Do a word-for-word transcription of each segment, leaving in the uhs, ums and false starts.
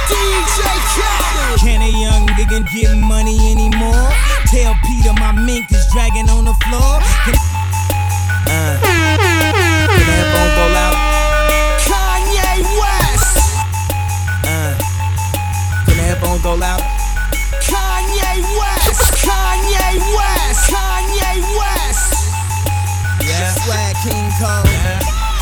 D J Khaled. Can a young nigga get money anymore? Tell Peter my mink is dragging on the floor. Can, uh, can that phone go loud? Kanye West. Uh, can that phone go loud? Kanye West. Kanye West. Kanye West. Yeah. Swag King Cole. Yeah.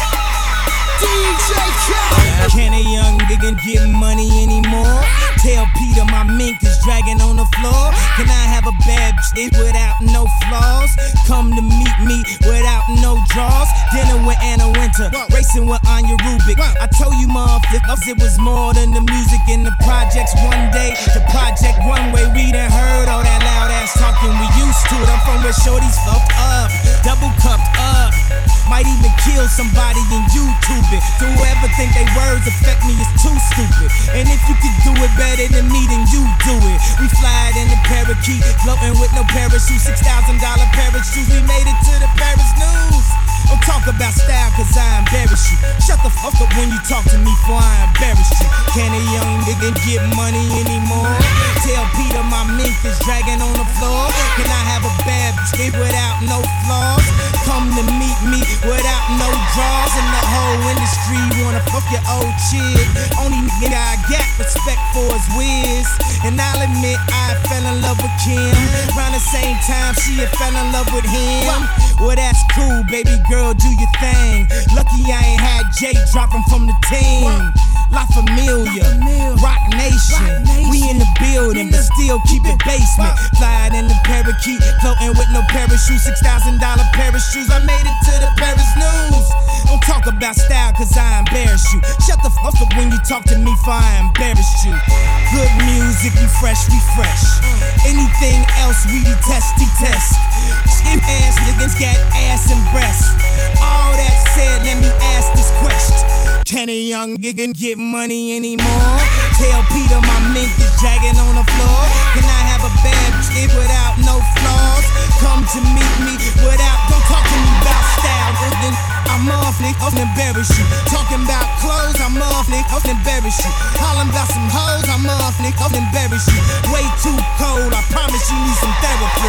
D J Khaled. Can a young nigga get money anymore? Tell Peter my mink is dragging on the floor. Can I have a bad bitch without no flaws? Come to meet me without no draws. Dinner with Anna Winter, racing with Anya Rubik. I told you motherfuckers it was more than the music in the projects. One day, the project one way, we done heard all that loud ass talking. We used to it. I'm from where shorties fucked up, double cupped up. Might even kill somebody and YouTube it. So whoever think they words affect me is too stupid. And if you could do it better than me, then you do it. We fly in the parakeet, floating with no parachute. Six thousand dollar parachutes, we made it to the Paris news. Don't talk about style cause I embarrass you. Shut the fuck up when you talk to me before I embarrass you. Can a young nigga get money anymore? Tell Peter my mink is dragging on the floor. Can I have a bad bitch without no flaws? Come to meet me without no draws. And the whole industry wanna fuck your old chick. Only nigga I got respect for is Wiz. And I'll admit I fell in love with Kim. Around the same time she had fell in love with him. Well that's cool baby girl, do your thing. Lucky I ain't had Jay dropping from the team. La Familia, Rock Nation. We in the building, but still keep it basement. Flying in the parakeet, floating with no parachute. Six thousand dollar parachutes. I made it to the Paris news. Don't talk about style, cause I embarrass you. Shut the fuck up when you talk to me, for I embarrass you. Good music, we fresh, we fresh. Anything else, we detest, detest. Skin ass niggas got ass and breasts. All that said, let me ask this question. Can a young nigga get money anymore? Tell Peter my mink is dragging on the floor. Can I have a bad bitch without no flaws? Come to meet me without, don't talk to me about style. Then I'm off, nigga, I'll embarrass you. Talking about clothes, I'm off, nigga, I'll embarrass you. Hollering about some hoes, I'm off, nigga, I'll embarrass you. Way too cold, I promise you need some therapy.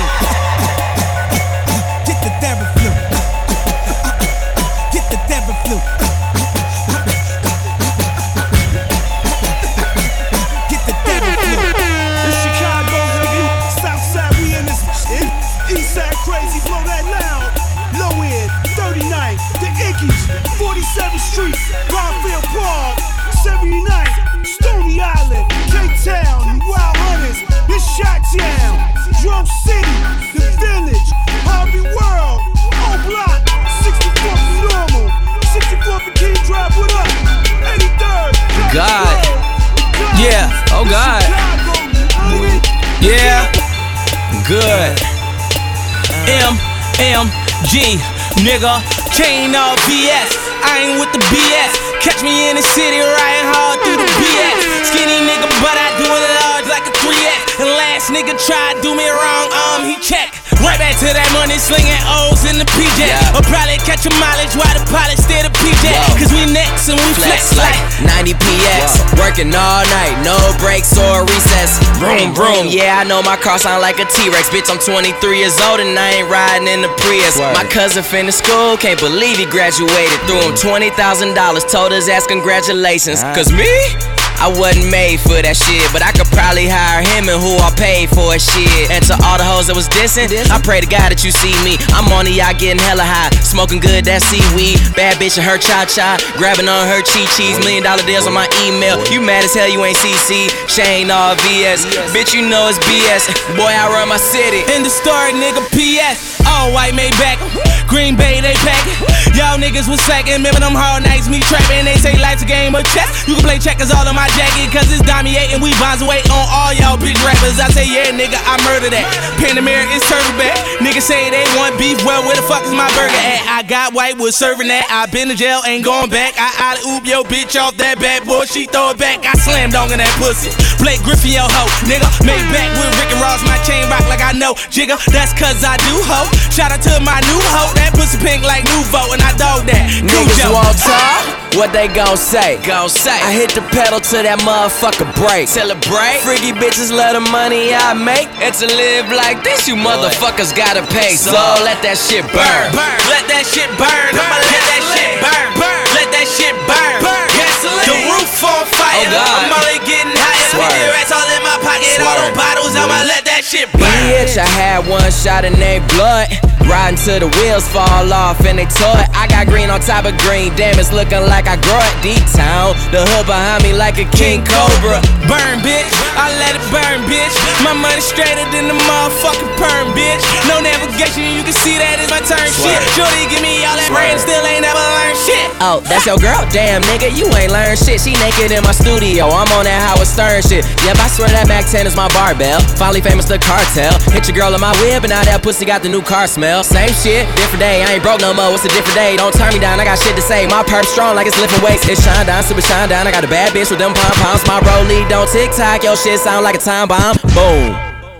Get the therapy. Get the therapy. Crazy, blow that loud. Low end, thirty-ninth, the Iggy's, forty-seventh Street, Garfield Park, seventy-ninth, Stony Island, K-Town, Wild Hunters, this Shot-Town, Drum City, The Village, Harvey World, O-Block, sixty-fourth and Normal, sixty-fourth and King Drive, what up? eighty-third, God, yeah, oh God, yeah, good. M M G, nigga, Kane all B S. I ain't with the B S. Catch me in the city riding hard through the B S. Skinny nigga, but I do it large like a three X. And last nigga tried do me wrong, um, he checked. Right back to that money, slinging O's in the P J. Yeah. Or probably catch a mileage while the pilot stay the P J. Whoa. Cause we next and we flex, flex like ninety P X. Whoa. Working all night, no breaks or recess. Vroom, vroom. Yeah, I know my car sound like a T-Rex. Bitch, I'm twenty-three years old and I ain't riding in the Prius. Word. My cousin finished school, can't believe he graduated. Threw him twenty thousand dollars, told his ass congratulations. Uh. Cause me? I wasn't made for that shit, but I could probably hire him and who I paid for shit. And to all the hoes that was dissing, I pray to God that you see me. I'm on the yacht getting hella high, smoking good, that seaweed. Bad bitch and her cha-cha, grabbing on her chi-chis. Million dollar deals on my email. You mad as hell, you ain't C C. Shane all V S. Bitch, you know it's B S. Boy, I run my city. In the story, nigga, P S. All white Maybach, Green Bay, they packin'. Y'all niggas was slacking, remember them hard nights, me trapping. They say life's a game of chess. You can play checkers all in my jacket, cause it's Damier and we bonds away on all y'all bitch rappers. I say, yeah, nigga, I murder that. Panamera is turtleback. Niggas say they want beef, well, where the fuck is my burger at? I got white, was serving that. I been to jail, ain't going back. I alley-oop yo bitch off that bad boy, she throw it back. I slam dunk in that pussy. Blake Griffin, yo hoe, nigga. Made back with Rick and Ross, my chain rock like I know. Jigga, that's cause I do hoe. Shout out to my new hoe. that pussy pink like Nouveau, and I dog that. Niggas won't talk, what they gon' say? Gon' say. I hit the pedal to that motherfucker break. Celebrate. Freaky bitches love the money I make. And to live like this, you motherfuckers gotta pay. So let that shit burn. burn. Let that shit burn. I'ma let that shit burn. burn. Let that shit burn. burn. Gasoline. The roof on fire. Oh God. I'm only getting higher. fifty racks all in my pocket. Swerve. All those bottles, I'ma let that shit burn. Bitch, I had one shot and they blood. Riding till the wheels fall off and they tore it. I got green on top of green, damn, it's looking like I grow it. Deep town, the hood behind me like a king cobra. Burn, bitch, I let it burn, bitch. My money straighter than the motherfucking perm, bitch. No navigation, you can see that is my turn. Swear. Shit, Shorty give me all that brain, still ain't never learned shit. Oh, that's your girl? Damn, nigga, you ain't learned shit. She naked in my studio, I'm on that Howard Stern shit. Yep, I swear that Mac ten is my barbell. Finally famous, the cartel. Hit your girl in my whip and now that pussy got the new car smell. Same shit, different day, I ain't broke no more. What's a different day? Don't turn me down, I got shit to say. My perp strong like it's lifting weights. It's shine down, super shine down. I got a bad bitch with them pom-poms. My rollie don't tick-tock, your shit sound like a time bomb. Boom.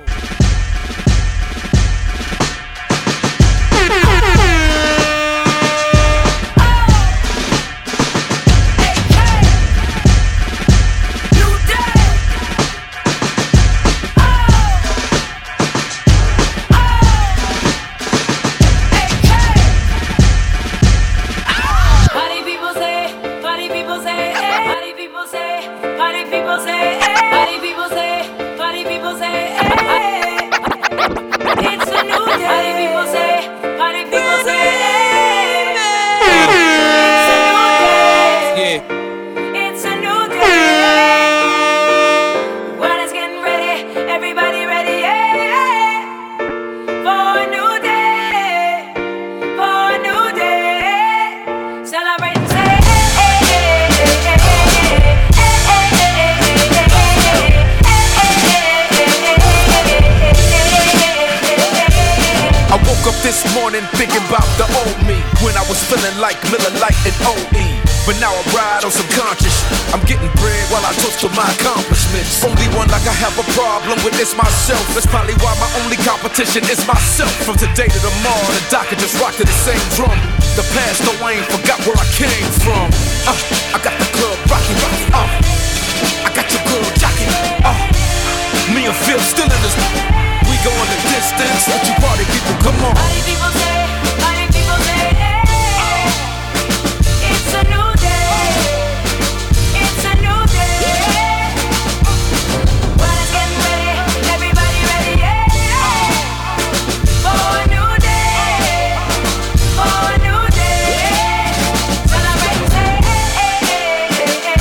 This morning thinking about the old me, when I was feeling like Miller Lite and O E. But now I ride on subconscious. I'm getting bread while I toast to my accomplishments. Only one like I have a problem with is myself. That's probably why my only competition is myself. From today to tomorrow, the doc can just rock to the same drum. The past, no, I ain't forgot where I came from. Uh, I got the club rocking, rocking. Uh, I got your girl jocking. Uh, me and Phil still in this. We going the distance. Let you party people, come on. Party people say, party people say, hey, it's a new day. It's a new day. Well, it's getting ready. Everybody ready, yeah. For a new day. For a new day. Celebrate and say, hey, hey, hey, hey,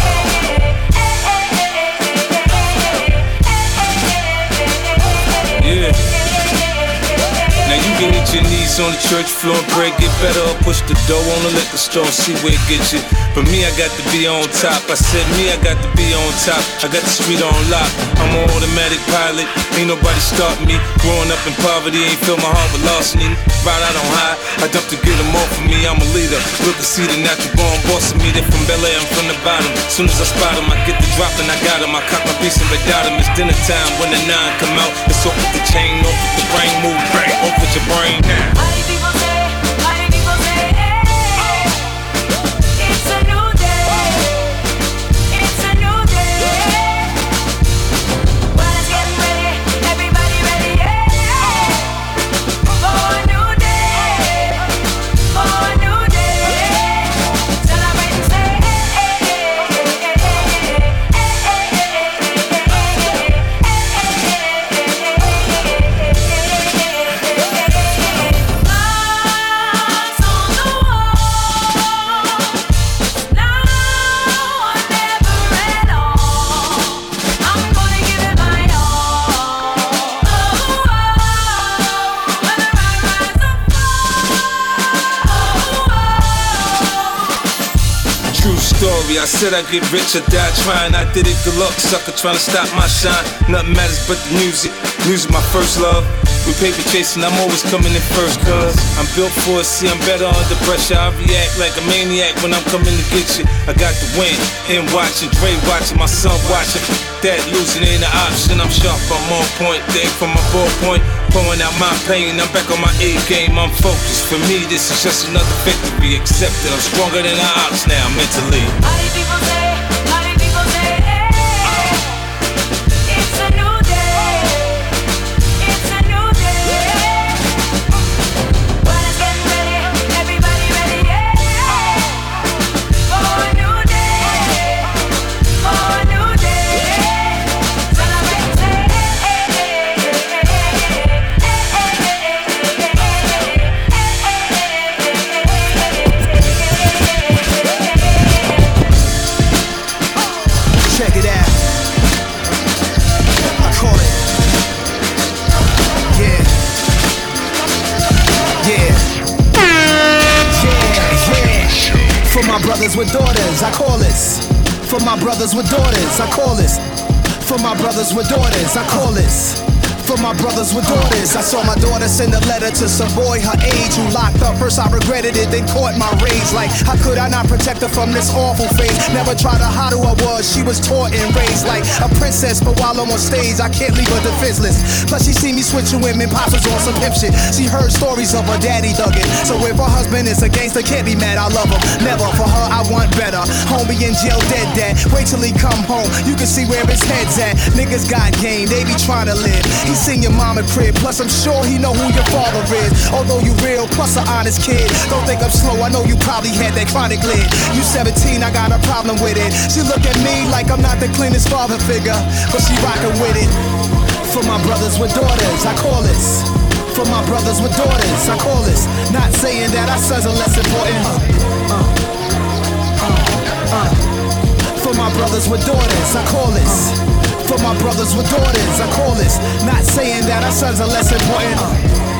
hey, hey, hey, hey, Yeah. Now you can hit your knees on the church floor and pray, get better, or push the door on the liquor store and see where it gets you. But me, I got to be on top. I said me, I got to be on top. I got the street on lock. I'm an automatic pilot. Ain't nobody start me. Growing up in poverty, ain't fill my heart with larceny. Right out on high, I dump to get them off of me. I'm a leader. Look and see the natural born boss of me. They from Bel Air, I'm from the bottom. Soon as I spot them, I get the drop and I got them. I cop my piece and without them. It's dinner time when the nine come out. It's off with the chain, off with the brain move, bang, off with your brain now. Party people say, party people say, hey, it's a new day. It's a new day. Well, it's getting ready. Everybody ready, yeah. For a new day. For a new day. Celebrate and say, hey, hey, hey, hey, I said I'd get rich or die trying. I did it, good luck, sucker trying to stop my shine. Nothing matters but the music. Music my first love. With paper chasing, I'm always coming in first, cuz I'm built for it, see I'm better under pressure. I react like a maniac when I'm coming to get you. I got the win, him watching, Dre watching, my son watching. That losing ain't an option, I'm sharp, I'm on point. Dig from my ballpoint, pouring out my pain. I'm back on my A game, I'm focused. For me, this is just another victory. Accepted, I'm stronger than an ox now mentally. All these people say, all these people say, hey, it's a new day, it's a new day. Well, it's getting ready, everybody ready, yeah, for a new day, for a new day. Celebrate, say, hey, hey, hey, hey, Check it out. I call it. Yeah. Yeah. Yeah, yeah. For my brothers with daughters, I call this. For my brothers with daughters, I call this. For my brothers with daughters, I call this. For my brothers with daughters, I saw my daughter send a letter to some boy her age who locked up. First I regretted it, then caught my rage. Like, how could I not protect her from this awful fate? Never tried to hide who I was, she was taught and raised like a princess. But while I'm on stage, I can't leave her defenseless. Plus she see me switching women, pops was on some pimp shit. She heard stories of her daddy thuggin'. So if her husband is a gangster, can't be mad, I love him. Never, for her I want better. Homie in jail dead dad, wait till he come home, you can see where his head's at. Niggas got game, they be trying to live. He seen your mama crib, plus I'm sure he know who your father is. Although you real, plus an honest kid. Don't think I'm slow, I know you probably had that chronic lid. You seventeen, I got a problem with it. She look at me like I'm not the cleanest father figure, but she rockin' with it. For my brothers with daughters, I call this. For my brothers with daughters, I call this. Not saying that our sons are less important. Uh, uh, uh, uh. For my brothers with daughters, I call this. For my brothers with daughters, I call this. Not saying that our sons are less important. Uh,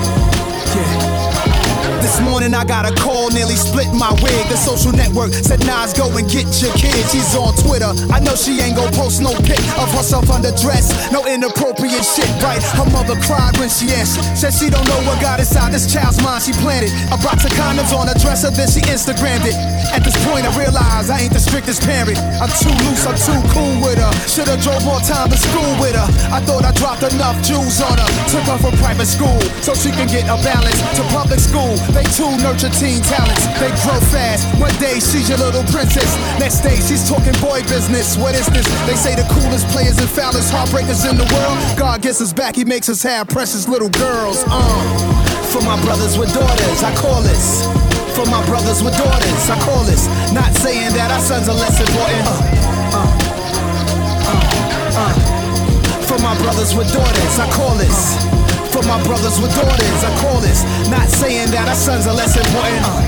yeah. This morning I got a call, nearly split my wig. The social network said Nas, go and get your kid. She's on Twitter, I know she ain't gon' post no pic of herself underdressed. No inappropriate shit, right? Her mother cried when she answered. Said she don't know what got inside this child's mind. She planted a box of condoms on her dresser, then she Instagrammed it. At this point I realize I ain't the strictest parent. I'm too loose, I'm too cool with her. Should've drove more time to school with her. I thought I dropped enough jewels on her. Took her from private school so she can get a balance to public school. They too nurture teen talents. They grow fast. One day she's your little princess. Next day she's talking boy business. What is this? They say the coolest players and foulest heartbreakers in the world. God gets us back, he makes us have precious little girls. Uh. For my brothers with daughters, I call this. For my brothers with daughters, I call this. Not saying that our sons are less important. Uh, uh, uh, uh. For my brothers with daughters, I call this. For my brothers with daughters, I call this. Not saying that our sons are less important. Uh,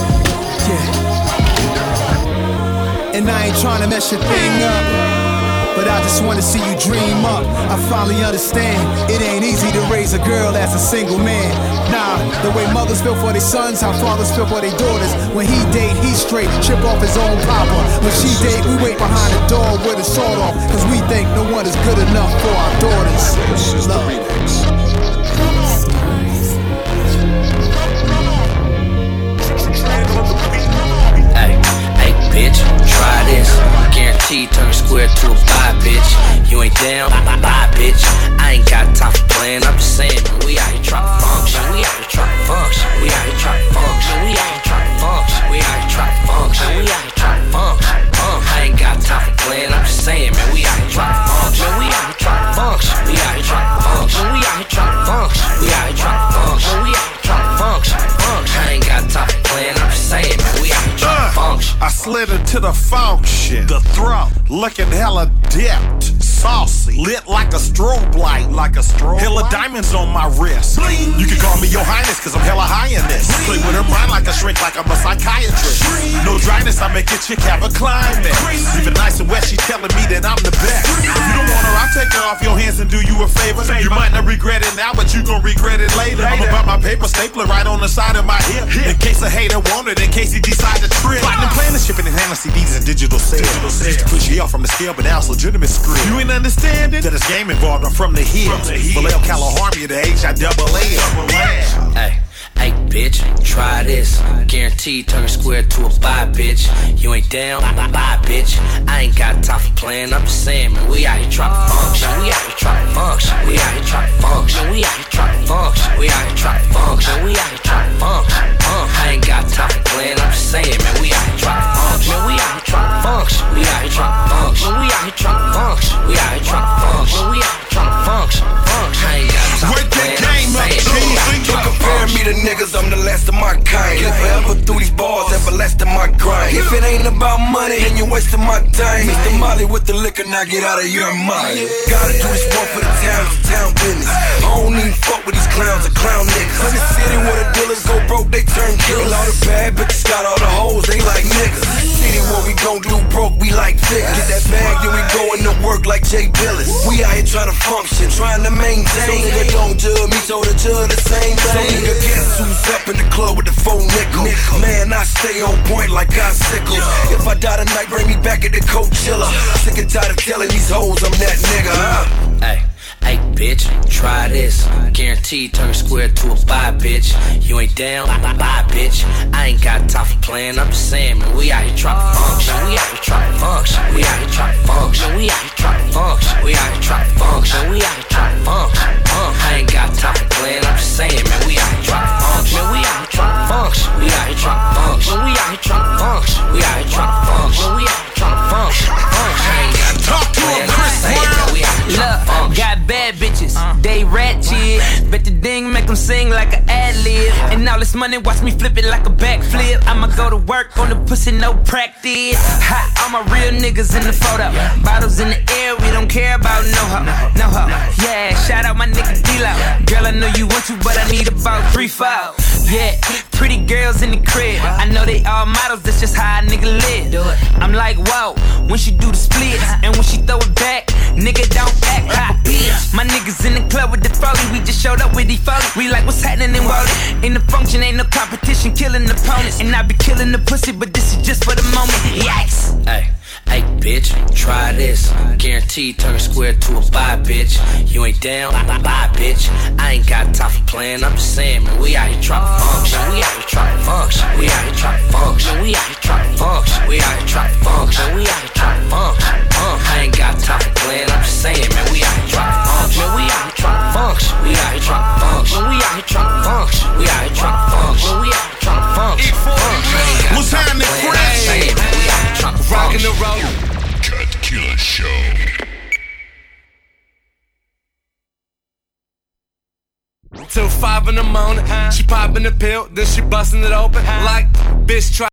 yeah. And I ain't trying to mess your thing up, but I just wanna see you dream up. I finally understand it ain't easy to raise a girl as a single man. Nah, the way mothers feel for their sons, how fathers feel for their daughters. When he date, he straight, chip off his own papa. When she date, we wait behind the door with a sword off, cause we think no one is good enough for our daughters. Love. Hey, hey, bitch, try this. Guaranteed turn a square to a pie, bitch. You ain't down, bye, bye, bitch. I ain't got time for playing. I'm just saying, man, we out here trying to function. We out here trying to function. We out here trying to function. We out here trying to function. We out here trying to function. We out here trying to function. I ain't got time for playing. I'm just saying, man, we out here trying to function. We out here trying to function. We out here trying to function. We out here trying to function. We out here trying to function. We out here trying to function. I ain't got time for playing. I'm just saying, man, we out here trying to function. I slid into the function, the throat, looking hella dipped, saucy, lit like a strobe light, like a strobe hella diamonds on my wrist. Bling. You can call me your highness, cause I'm hella high in this. Play with her mind like a shrink, like I'm a psychiatrist. No dryness, I make a chick have a climax. Even nice and wet, she telling me that I'm the best. If you don't want her, I'll take her off your hands and do you a favor. You might not regret it now, but you gon' regret it later. I'm about my paper stapler right on the side of my hip, in case a hater want it, in case he decide to trip. Plotting and planning, shipping and handling C Ds and digital sales. Used to push you off from the scale, but now it's legitimate script. You ain't understanding that it's game involved. I'm from the hill. Vallejo, California, the H I double A. Hey, Hey, bitch, try this. Guaranteed turn square to a buy, bitch. You ain't down, bye, bitch. I ain't got time for playing. I'm just saying, man, we out here trying to function. We out here trying to function. We out here trying to function. We out here trying to function. We out here trying to function. We out here trying to function. I ain't got time for playing. I'm just saying, man, we out here trying to function. We out here trying to function. We out here trying to function. We out here trying to function. We out here trying to function. We out here trying to function. I ain't got time for playing. I'm just saying, don't compare me to niggas, I'm the last of my kind. Live forever through these bars, everlasting my grind. If it ain't about money, then you're wasting my time. Mister Molly with the liquor, now get out of your mind. Gotta do this one for the town, it's town business. I don't even fuck with these clowns or clown niggas. In the city where the dealers go broke, they turn killers. All the bad bitches got all the hoes, they like niggas. City where we gon' do broke, we like figures. Get that bag, then we going to work like Jay Billis. We out here trying to function, trying to maintain. So nigga don't judge me, so the judge the same thing. So nigga guess who's up in the club with the four nickel. Man, I stay on point like icicles. If I die tonight, bring me back at the Coachella. Sick and tired of telling these hoes I'm that nigga, huh? Hey. Hey, bitch, try this. Guaranteed turn square to a buy, bitch. You ain't down, bye, bitch. I ain't got time for playing. I'm just saying, man, we out here trying to function. We out here trying to function. We out here trying to function. We out here trying to function. We out here trying to function. We out here trying to function. I ain't got time for playing. I'm just saying, man, we out here trying to function. We out here trying to function. We out here trying to function. We out here trying to function. We out here trying to function. We out here trying to function. I ain't got time for playing. I'm just saying, man, we out here trying to function. Got bad bitches, they ratchet. Bet the ding make them sing like an ad-lib. And all this money, watch me flip it like a backflip. I'ma go to work on the pussy, no practice. Hot, all my real niggas in the photo. Bottles in the air, we don't care about no hoe, no hoe. Yeah, shout out my nigga D-Lo. Girl, I know you want to, but I need about three, four. Yeah, pretty girls in the crib. I know they all models, that's just how a nigga live. I'm like, whoa, when she do the splits and when she throw it back, nigga don't act hot. My niggas in the club with the foley, we just showed up with the foley. We like, what's happening in Wally? In the function, ain't no competition, killing opponents. And I be killing the pussy, but this is just for the moment. Yikes. Hey. Hey, bitch, try this. Guaranteed turn square to a buy, bitch. You ain't down, bye, bitch. I ain't got time for playing. I'm just saying, man, we out here trying to function. We out here trying to function. We out here trying to function. We out here trying to function. We out here trying to function. We out here trying to function. I ain't got time for playing. I'm just saying, man, we out here trying to function. We out here trying to function. We out here trying to function. We out here trying to function. We out here trying to function. We out here trying to function. What's happening, friends? Rockin' the road. Cut Killer Show. Till five in the morning, she popping the pill, then she busting it open like bitch try.